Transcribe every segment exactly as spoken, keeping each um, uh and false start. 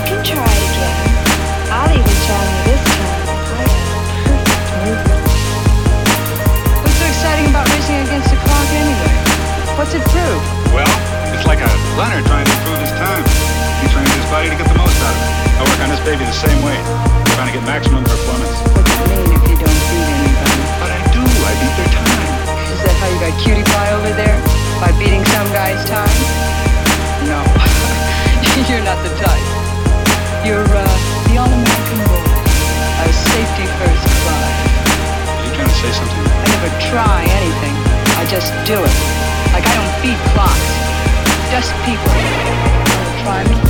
can try it again. I'll even tell you this time. I got perfect movement. What's so exciting about racing against the clock anyway? What's it prove? Well, it's like a runner trying to improve his time. He trains his body to get the most out of it. I work on this baby the same way, trying to get maximum performance. What's it mean if you don't beat anybody? But I do. I beat their time. Is that how you got cutie pie over there? By beating some guy's time? No. You're not the type. You're, uh, the all-American boy. A safety-first Clyde. Are you trying to say something? I never try anything. I just do it. Like I don't beat clocks. Just people. Wanna try me?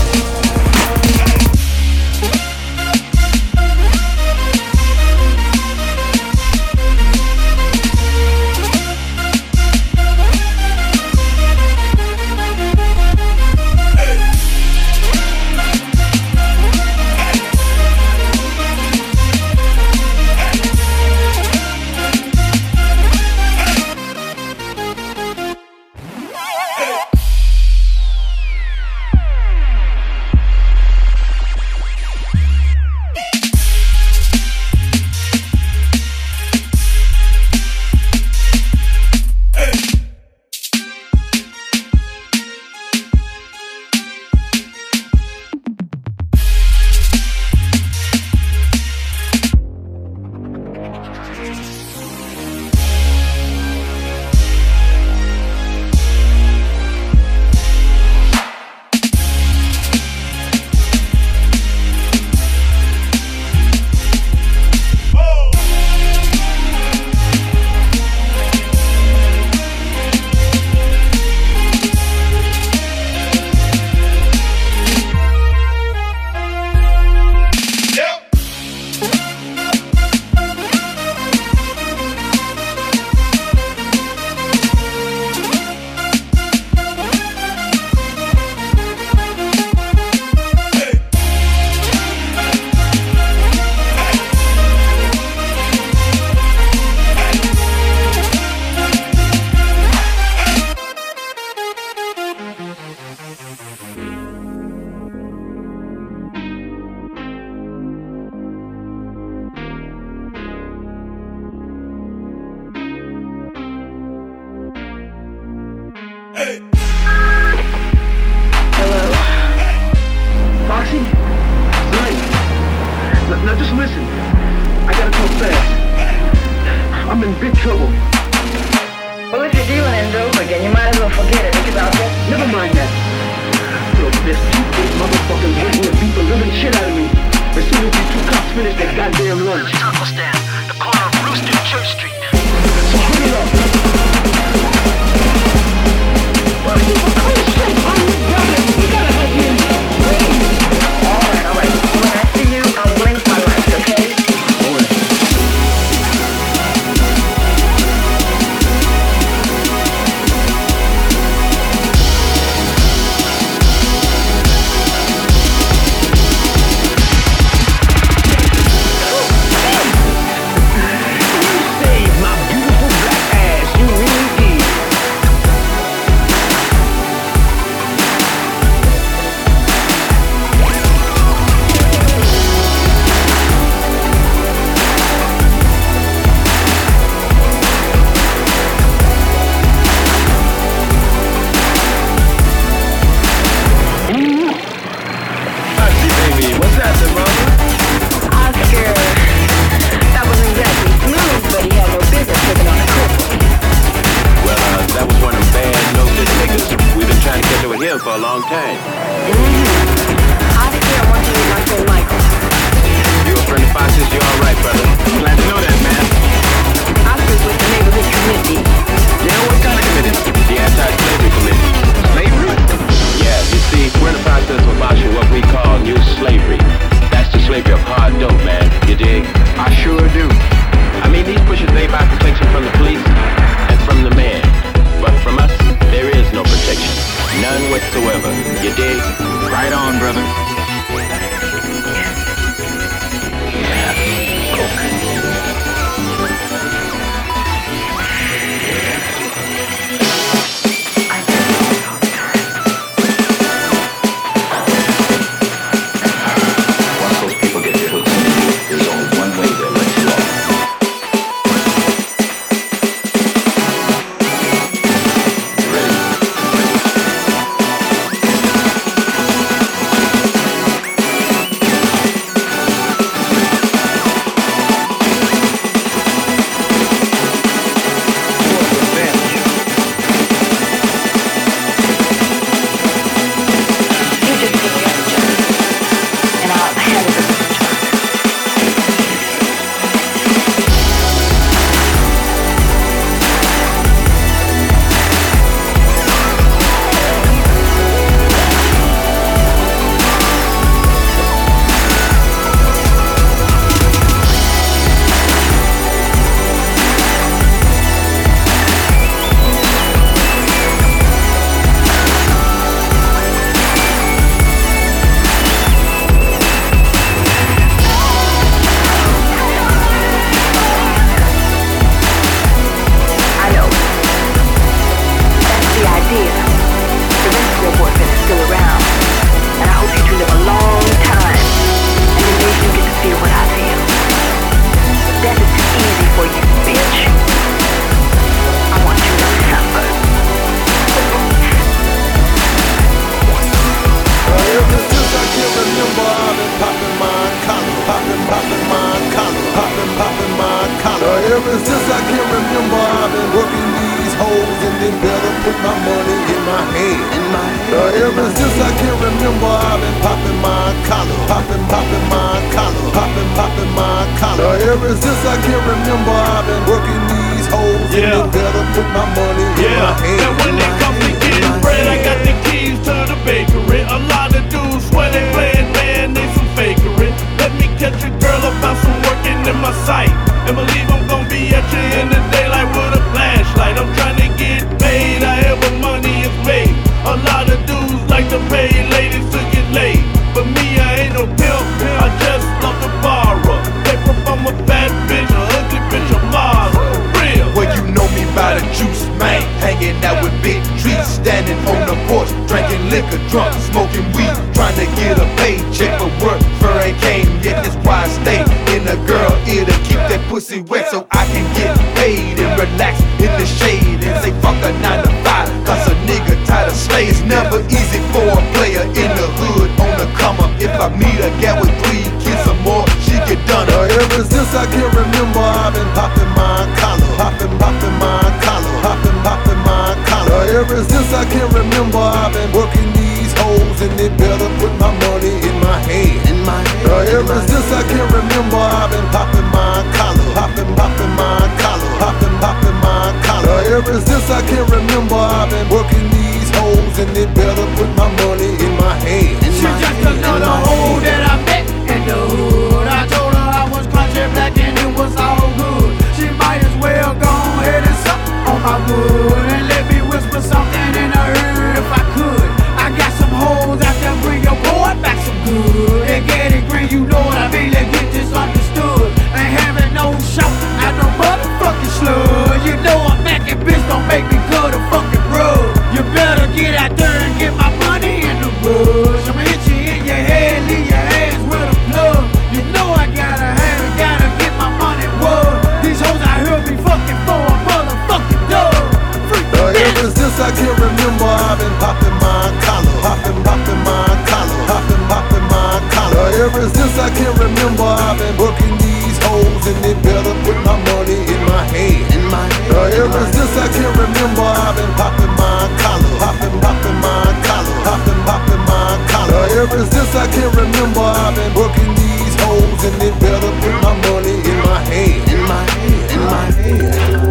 Yeah. and they better put my money in Yeah. my hand. And when it comes to getting bread, I got the keys to the bakery. A lot of dudes swear they playing, man, they some fakery. Let me catch a girl about some working in my sight, and believe I'm gonna be at you in the daylight with a flashlight. I'm trying to get paid, however money is made. A lot of dudes like to pay ladies to get laid, but me, I ain't no pimp, I just love to borrow. Paper from a fat bitch, a ugly bitch, a model. Real. Well, you know me by the juice, man. Hanging out with big trees, standing on the porch, drinking liquor, drunk, smoking weed, trying to get a paycheck, but work for ain't came yet. That's why I stay in a girl ear to keep that pussy wet, so I can get paid and relax in the shade and say fuck a nine to five, cause a nigga tired of slay. It's never easy for a player in the hood on the come up. If I meet a gal with three kids or more, she get done up. Uh, ever since I can remember, I've been popping my collar, popping, popping my collar, popping, popping my collar. Uh, ever since I can remember, I've been working these hoes, and they better put my money in my hand. In my hand. Uh, ever since I can remember, I've been popping my collar, popping, popping my collar, popping, popping my collar. Uh, ever since I can remember, I've been working these hoes, and they better put my money in my hand. She just another hoe that I met in the hood. I told her I was country black and it was all good. She might as well go ahead and suck on my wood and let me whisper something in her ear if I could. I got some hoes out there, bring your boy back some good. And get it green, you know what I mean, let's get this understood. Ain't having no shot, not no motherfucking slug. You know I'm macking, bitch, don't make me cut a fucking rug. You better get out there and get my money in the bush. I'ma hit you in your head, leave your ass with a plug. You know I gotta have it, gotta get my money wood. These hoes out here be fucking for a motherfucking dub. Uh, ever since I can remember, I've been popping my collar, popping, popping my collar, popping, popping my collar. Uh, ever since I can remember, I've been working these hoes, and they better put my money in my hand. In my hand. Uh, ever since I can remember, I've been popping my collar, popping, popping my collar, popping, popping my collar. Uh, ever since I can remember, I've been working these hoes, and they better put my money in my hand. In my hand. In my hand.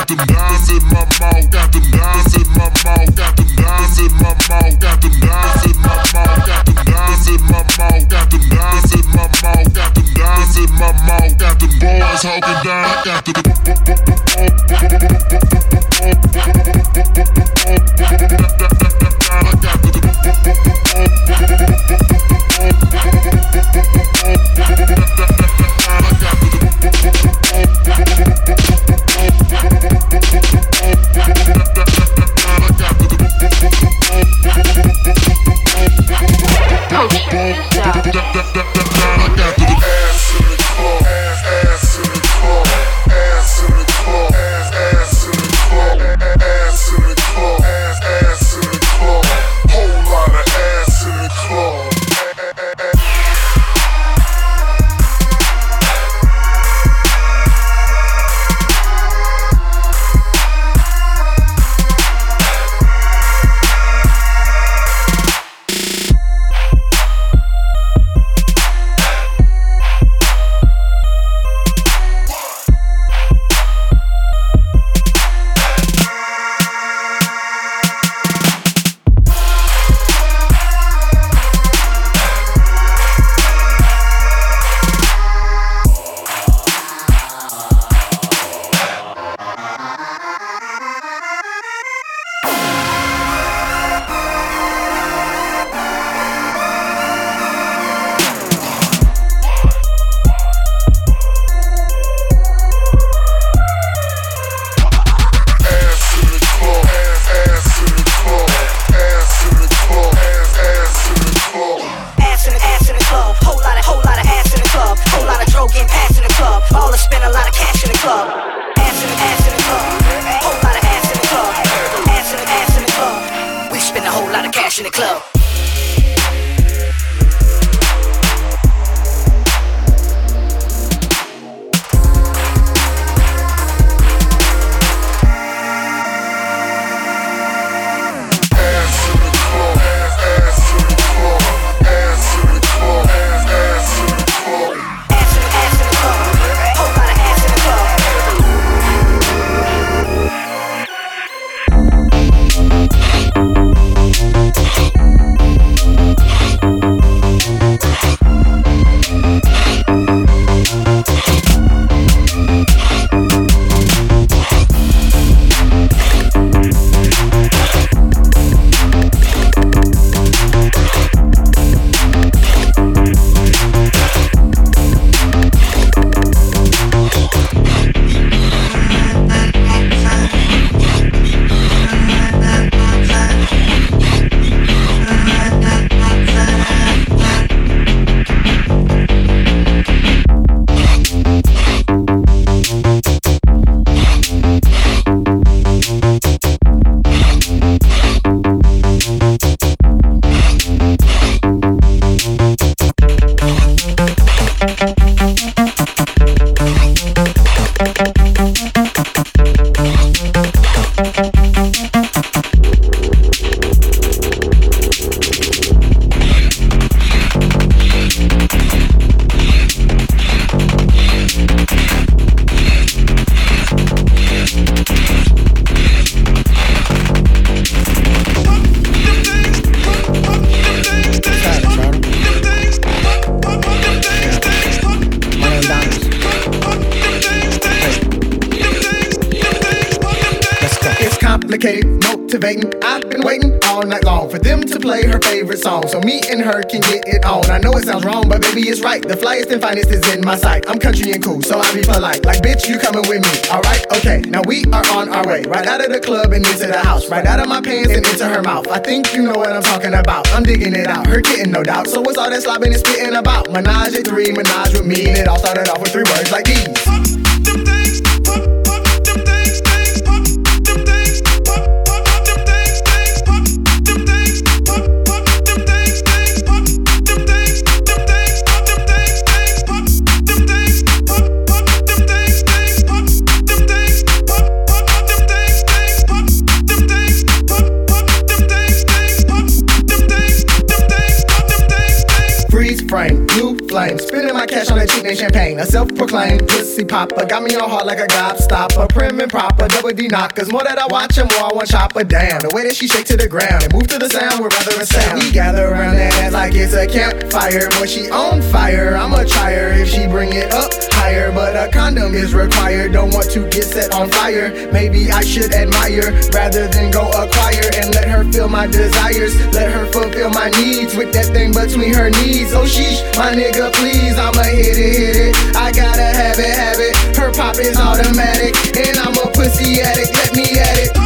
got them dimes in my mouth, got them dimes in my mouth, got them dimes in my mouth, got them dimes in my mouth, got them dimes in my mouth, got them dimes in my mouth, got them dimes in my mouth, got them boys hawking down, got them. Motivating, I've been waiting all night long for them to play her favorite song so me and her can get it on. I know it sounds wrong, but baby it's right. The flyest and finest is in my sight. I'm country and cool, so I be polite. Like bitch, you coming with me, alright? Okay, now we are on our way. Right out of the club and into the house. Right out of my pants and into her mouth. I think you know what I'm talking about. I'm digging it out, her getting no doubt. So what's all that slobbing and spitting about? Menage at three, menage with me. And it all started off with three words like these. Frame, blue flame, spinning my cash on that cheap and champagne. A self-proclaimed pussy popper, got me on hard like a gobstopper. Prim and proper, double D knockers. More that I watch her, more I want chopper down. The way that she shake to the ground and move to the sound, we're rather a sound. We gather around that ass like it's a campfire. Boy, she on fire, I'ma try her if she bring it up higher. But a condom is required, don't want to get set on fire. Maybe I should admire rather than go acquire. And let her feel my desires, let her fulfill my needs with that thing between her knees. Oh sheesh, my nigga please, I'ma hit it, hit it. I gotta have it, have it. Her pop is automatic, and I'm a pussy addict, let me at it.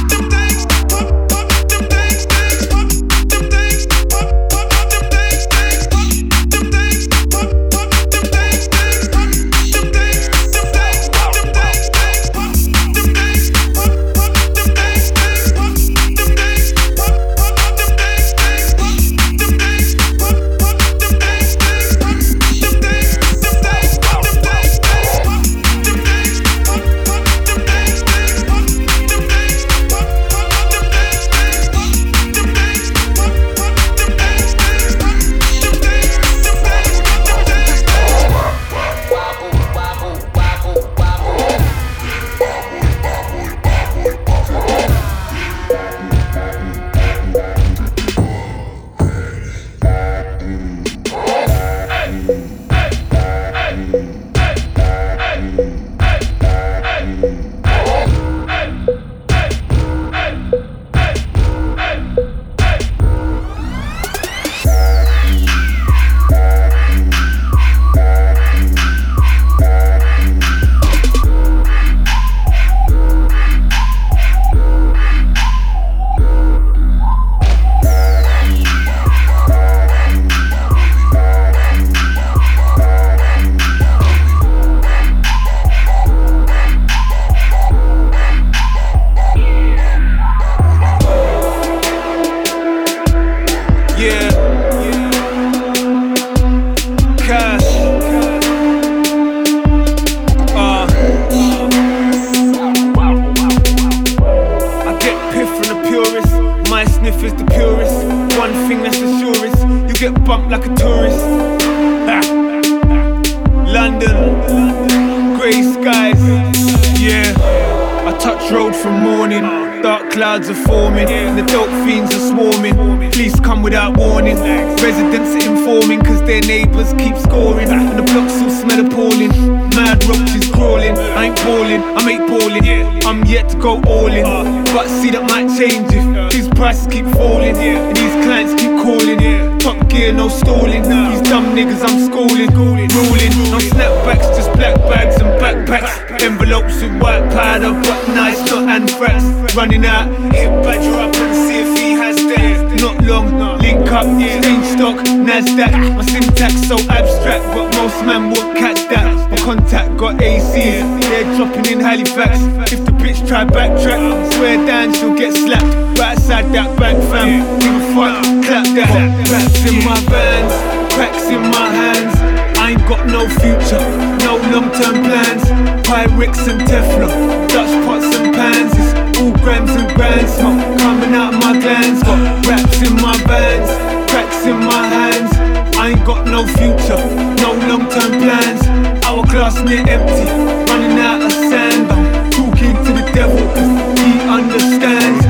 Clouds are forming, and the dope fiends are swarming. Police come without warning, residents are informing, cause their neighbours keep scoring. And the blocks still smell appalling, mad roaches crawling. I ain't balling, I'm eight balling, I'm yet to go all in. But see that might change if these prices keep falling, and these clients keep calling. Top gear, no stalling, these dumb niggas I'm schooling. Ruling, no snapbacks, just black bags and backpacks. Envelopes with white powder, but nice, not anthrax. Running out, hit Badger up and see if he has that. Not long, link up, change stock, Nasdaq. My syntax so abstract, but most man won't catch that. My contact got A Cs, they're dropping in Halifax. If the bitch try backtrack, swear down she'll get slapped. Right outside that bank fam, give a fuck, clap that. Raps in my bands, cracks in my hands. I ain't got no future, no long-term plans. Pyrex and Teflon, Dutch pots and pans. It's all grams and grand smoke coming out of my glands. Got raps in my bands, cracks in my hands. I ain't got no future, no long-term plans. Hourglass near empty, running out of sand. I'm talking to the devil, cause he understands.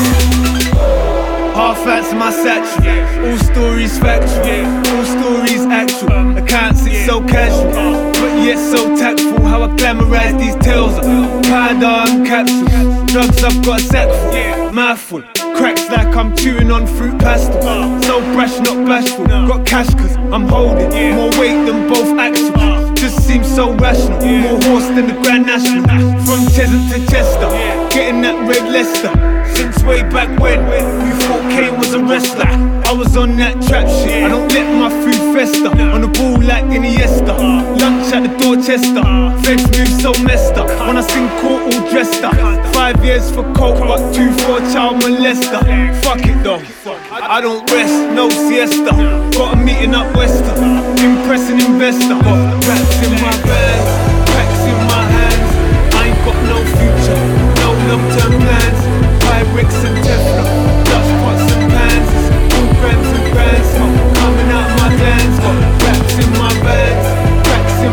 Half outs in my satchel, all stories factual, all stories actual. Accounts it's so casual, but yet so tactful. How I glamorize these tales of powder and capsules. Drugs I've got a sack full, mouthful. Cracks like I'm chewing on fruit pastel. So brash, not bashful. Got cash cause I'm holding more weight than both axles. Just seems so rational, more horse than the Grand National. From Cheshunt to Chester, getting that red Leicester. Since way back when you thought Kane was a wrestler, I was on that trap shit. I don't let my food fester. On the ball like Iniesta, lunch at the Dorchester. Feds move so messed up when I sing court all dressed up. Five years for coke, but two for a child molester. Fuck it though, I don't rest, no siesta. Got a meeting up Wester, impressing investor. Got raps in my bands, cracks in my hands. I ain't got no future, no long-term plans. Pyrex and Teflon, Dutch pots and pans. All grams and grands, smoke coming out my glands. Got raps in my bands, cracks in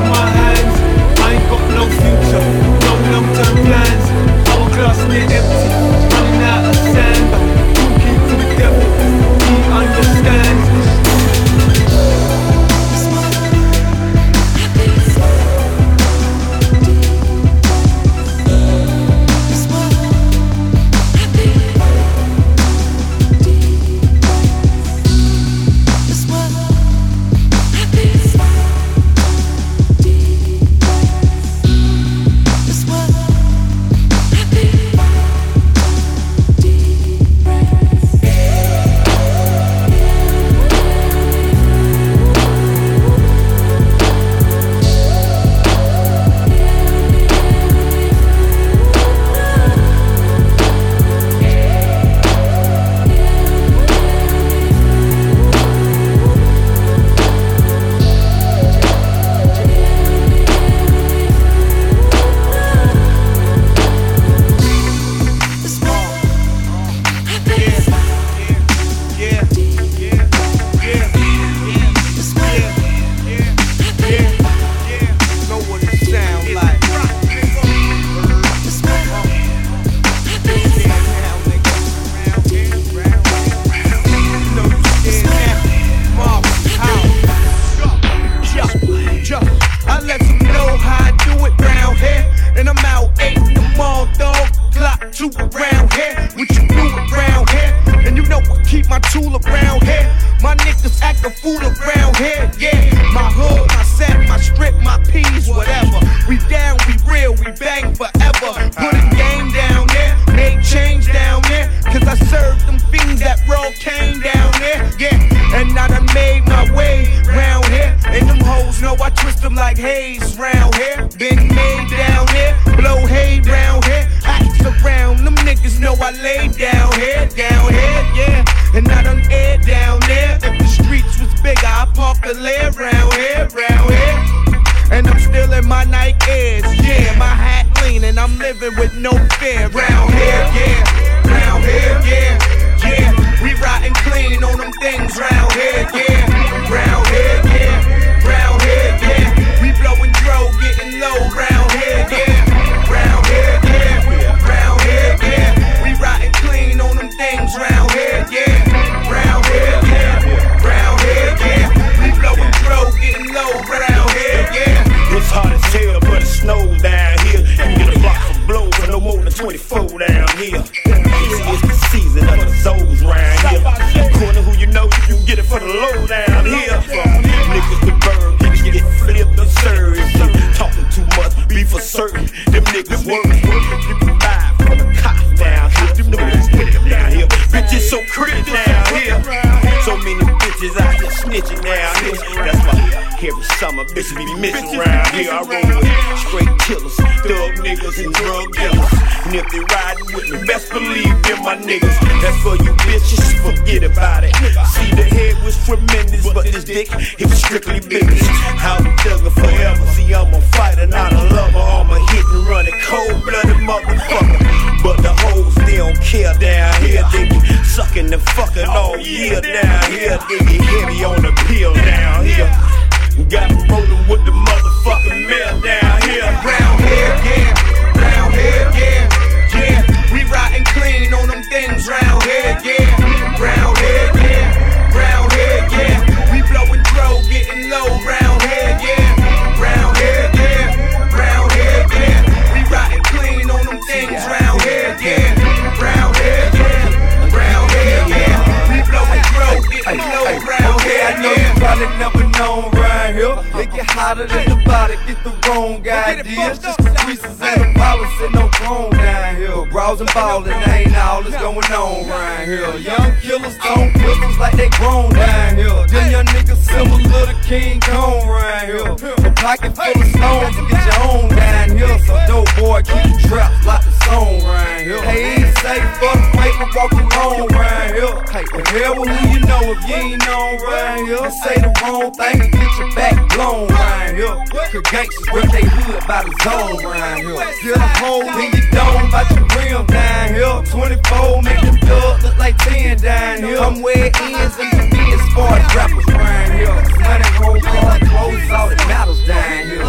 my tool around here. My niggas act a fool around here, yeah. My hood, my set, my strip, my peas, whatever. We down, we real, we bang forever. Put a game down there, made change down there. Cause I served them fiends that roll cane down there, yeah. And I done made my way round here. And them hoes know I twist them like haze round here. Been made down here, blow hay round here. Axe around, them niggas know I lay down here, down here, yeah. And I done air down there. If the streets was bigger, I'd park a lair round here, round here. And I'm still in my Nike Airs, yeah. My hat lean and I'm living with no fear. Round here, yeah. Round here, yeah. Yeah. We riding clean on them things round here, yeah. Round here, yeah. Round here, yeah. We blowing dro, getting low round here, yeah. Round here, yeah. Round here, yeah. We riding clean on them things round here, yeah. Round here, yeah. Round here, yeah. We blowing dro, getting low round here, yeah. It's hot as hell, but it snows down here. You can get a block for blow for no more than twenty-four down here. It's the season of the souls round here. According to who you know, you can get it for the low down here. Niggas with bird, niggas get flipped absurd. Talking too much, be for certain. Them niggas work. You can buy from the cops down here. Them niggas with them down here. Bitches so pretty down here. So many bitches out here snitching down here. That's why every summer bitches be missing around here. I roll with straight killers, thug niggas and drug dealers. And if they riding with me, best believe them my niggas. That's for you bitches, forget about it. See, the head was tremendous, but this dick, it was strictly business. I'm thuggin' forever. See, I'm a fighter, not a lover. I'm a hit and run, a cold-blooded motherfucker. But the hoes, they don't care down here. They be sucking and fucking all year down here. They be heavy on the pill down here. Got me rollin' with the motherfucking mail down here. Round here, yeah. Round here, yeah. Yeah. We riding clean on them things round here, yeah. Round here, yeah. Round here, yeah. We blowing dro, getting low round here, yeah. Round here, yeah. Round here, yeah. We riding clean on them things round here, yeah. Round here, yeah. Round here, yeah. We blowing dro, getting low round here, yeah. I know you probably never known right here. They get hotter than the body, get the wrong ideas. Just the creases and the policy, no chrome down here. Browsing ballin', ain't all that's going on right here. Young killers on pistols like they grown down here. Them young niggas similar to King Kong right here. A pocket full of stones to get your own down here. So dope boy, keep the traps like the song right here. Hey, ain't safe for the paper walking on right here. Hey, the hell with who you know if you ain't known right here. And say the wrong thing and get your back blown right here. Cause gangsters rip they hood by the zone right here. Get a hole in your dome about your rim down here. twenty-four make them dubs look like ten down here. I'm where it ends and the be as far as rappers right here. Money, gold, car, clothes, all that matters down here.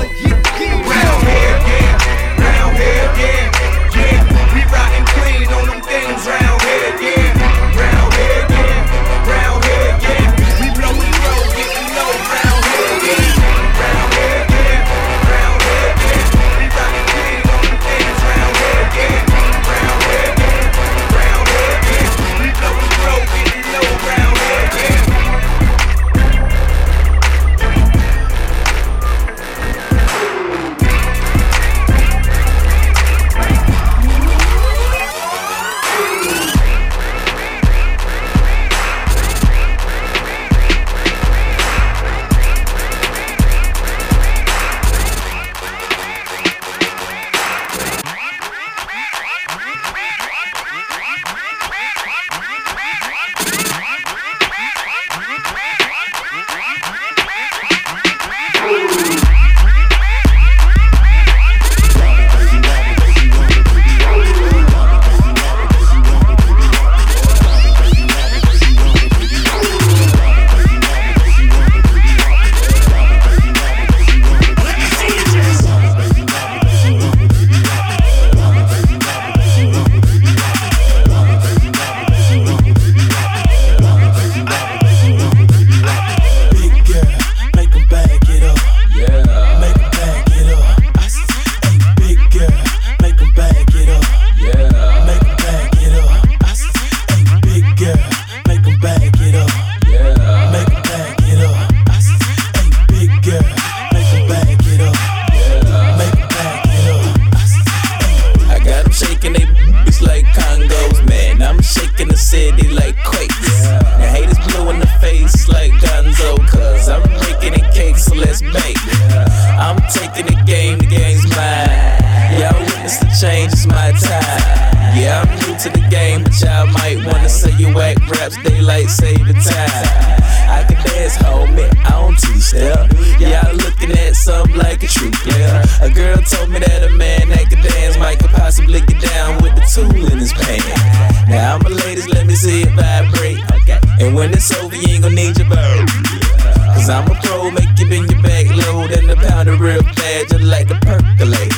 Round here, yeah. Round here, yeah. Yeah. We riding clean on them things round here, yeah. Round here, yeah. Round here, yeah. We blowing low, getting low round here, yeah. Round here, yeah. Round here, yeah. We riding clean on them things round here, yeah. Round here, yeah. Round here, yeah. We shit, they like quakes. Now haters blue in the face like Gonzo, cause I'm breaking in cakes, so let's bake. I'm taking the game, the game's mine. Y'all witness the change, it's my time. Yeah, I'm new to the game, but y'all might wanna say you whack raps, daylight save the time. I can dance, homie, I don't two-step. Y'all looking at something like a true player. A girl told me that a man that could dance might could possibly get down with the tool in his pants. Now I'm a ladies, let me see it vibrate. And when it's over, you ain't gon' need your bird. Cause I'm a pro, make you bend your back low, then the pound of real bad, just like the percolate.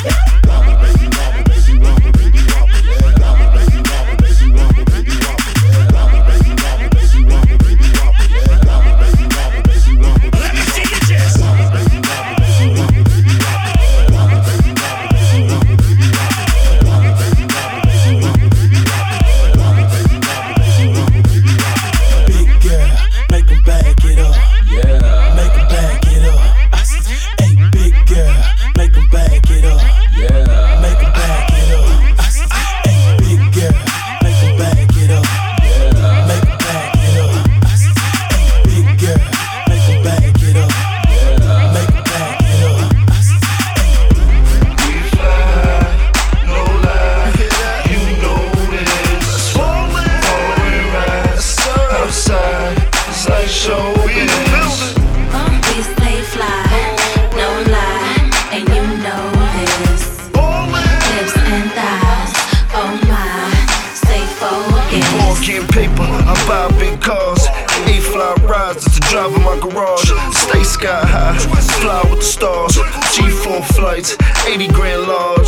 eighty grand large.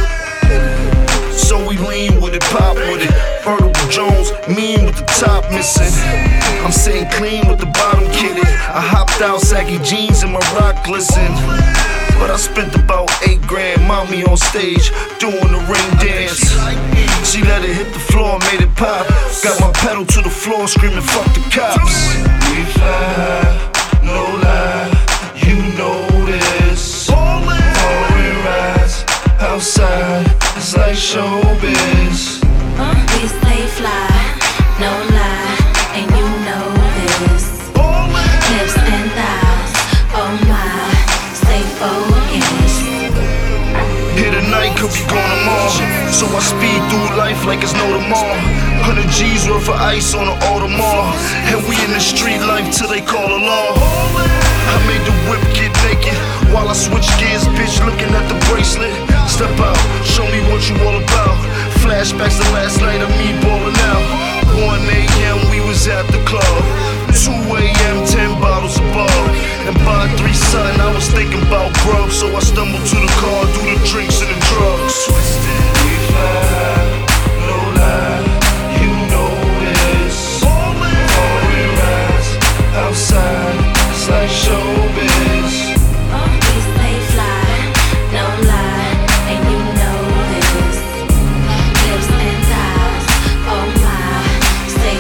So we lean with it, pop with it. Vertical Jones, mean with the top missing. I'm sitting clean with the bottom kitted. I hopped out, saggy jeans and my rock glisten. But I spent about eight grand, mommy on stage, doing the ring dance. She let it hit the floor, made it pop. Got my pedal to the floor, screaming, fuck the cops. We fly, no lie, you know this. Foreign rides, outside, it's like showbiz. We stay fly, no lie, and you know this. Hips and thighs, oh my, stay focused. Here tonight, could be gone tomorrow. So I speed through life like it's no tomorrow. Hundred G's worth of ice on the Audemars. And we in the street life till they call a law. I made the whip get naked while I switch gears, bitch, looking at the bracelet. Step out, show me what you all about. Flashbacks to last night of me ballin' out. one a.m. we was at the club. two a.m. ten bottles above. And by three something I was thinking about grub. So I stumbled to the car, do the drinks and the drugs. Twisted, we fly, no lie, you know this. Foreign rides, outside, it's like showbiz. We stay fly, no lie, and you know this. Hips and thighs, oh my, stay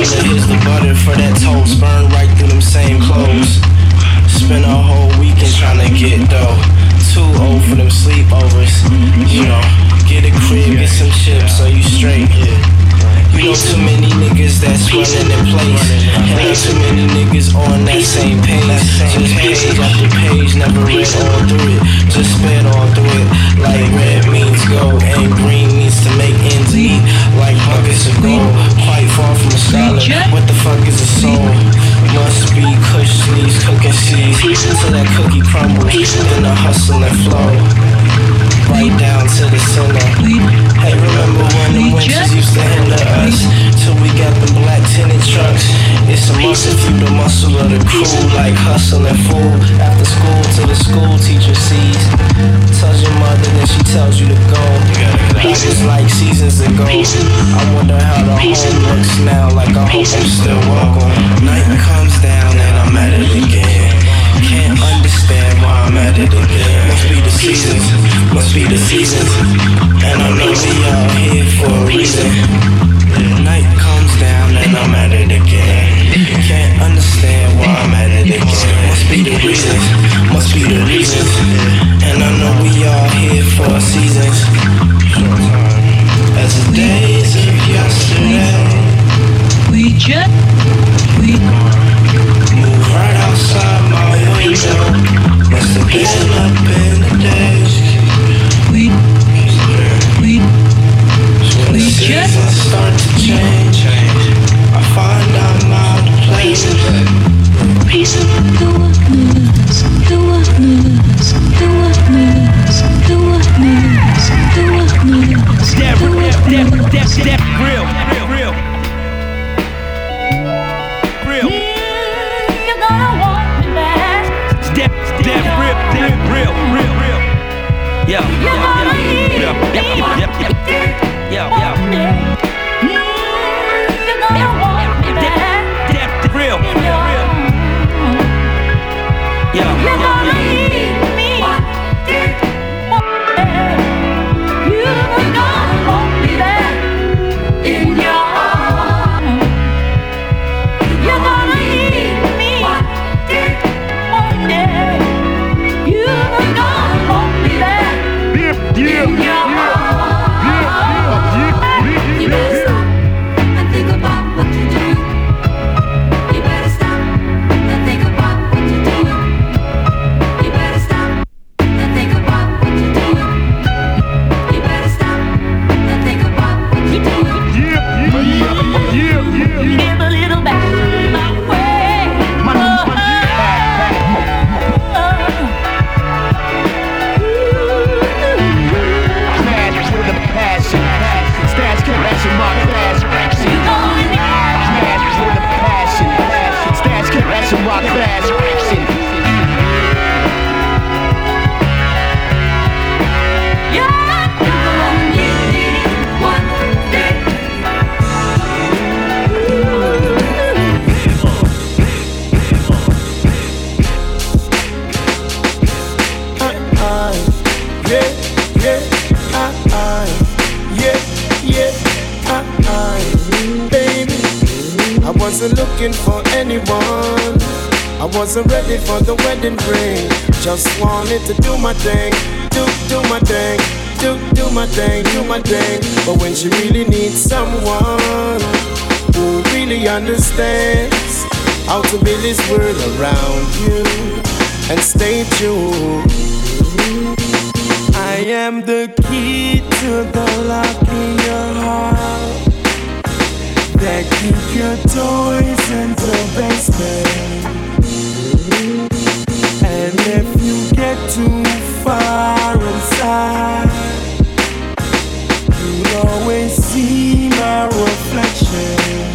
Taylor, here's the butter for that toast. Burn right through them same clothes. Spend a whole weekend trying to get dough. Too old for them sleepovers. You know, get a crib, get some chips, so you straight. You know too many niggas that's running in place. And not too many niggas on that same page. Just page after page, never read all through it. Just sped all through it. Like red means gold and green needs to make ends meet. Like buckets of gold, quite far from a scholar. What the fuck is a soul? Must be kush needs cooking seeds till that cookie crumbles. Then the hustle and flow right down to the center. Hey, remember when the winters used to hinder us till we got the black tinted trucks? It's a must if you the muscle of the crew, like hustle and fool. After school till the school teacher sees. Tells your mother, then she tells you to go. Life is like seasons ago. I wonder how the home looks now. Like I hope I'm still welcome. Night comes down and I'm at it again. Can't understand why I'm at it again. Must be the seasons, must be the seasons. And I know we all here for a reason. Night comes down and I'm at it again. Can't understand why I'm at it again. Must be the reasons, must be the reasons. And I know we all here for seasons. As the days of yesterday, we just, we move right outside my window. Must have been up in the days. We, we, when the seasons start to change, I find I'm out of place. Piece of the wonders, the wonders, the wonders, the wonders, the wonders. Step, step, step, step, real, real, real. You're gonna want me back. Step, step, real, step, real, real, real. Yo, yo, yo, yo, yo, yo, yo, yo, yo. You're gonna want me back. Step, real, real, real. Yo, You're yo, gonna yo. need me. You're gonna want me back in your arms. You're gonna need me one day. You're gonna want me back in your arms. You better stop and think about what you're doing. You better stop and think about what you're doing. You better stop and think about what you're doing. You better stop and think about what you're doing. Give a little back my way. Smash with a passion. Stash cash in my cash. Smash with a passion. Stash cash in my cash. I wasn't looking for anyone. I wasn't ready for the wedding ring. Just wanted to do my thing, do do my thing, do do my thing, do my thing. But when she really needs someone who really understands how to build this world around you and stay true. I am the key to the lock in your heart that keep your toys in the basement. And if you get too far inside, you'll always see my reflection.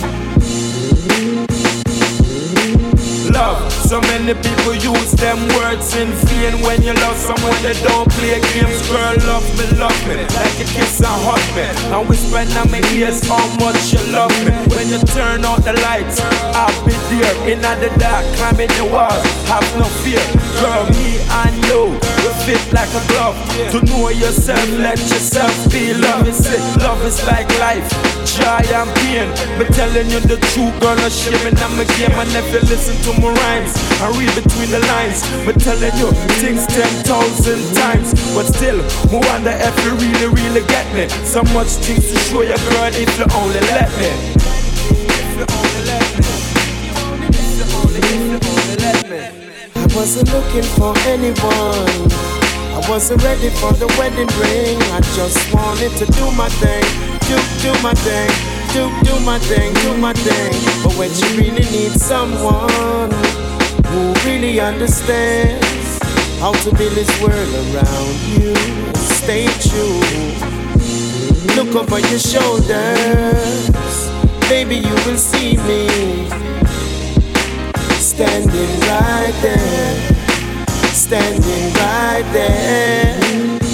Love, so many people use them words in vain. When you love someone, they don't play games. Girl, love me, love me, like a kiss and hug me, and whisper in my ears how much you love me. When you turn out the lights, I'll be there in the dark, climbing the walls, have no fear. Girl, me and you, we fit like a glove. To know yourself, let yourself be. Love is it, love is like life. joy and pain. Me telling you the truth, girl, no shame in my game. And if you listen to my rhymes and read between the lines, me telling you things ten thousand times. But still, me wonder if you really, really get me. So much things to show you, girl, if you only let me. If you only let me. If you only, if you only let me. I wasn't looking for anyone. I wasn't ready for the wedding ring. I just wanted to do my thing, do, do my thing, do, do my thing, do my thing. But when you really need someone who really understands how to build this world around you, stay true. Look over your shoulders, baby, you will see me standing right there, standing right there.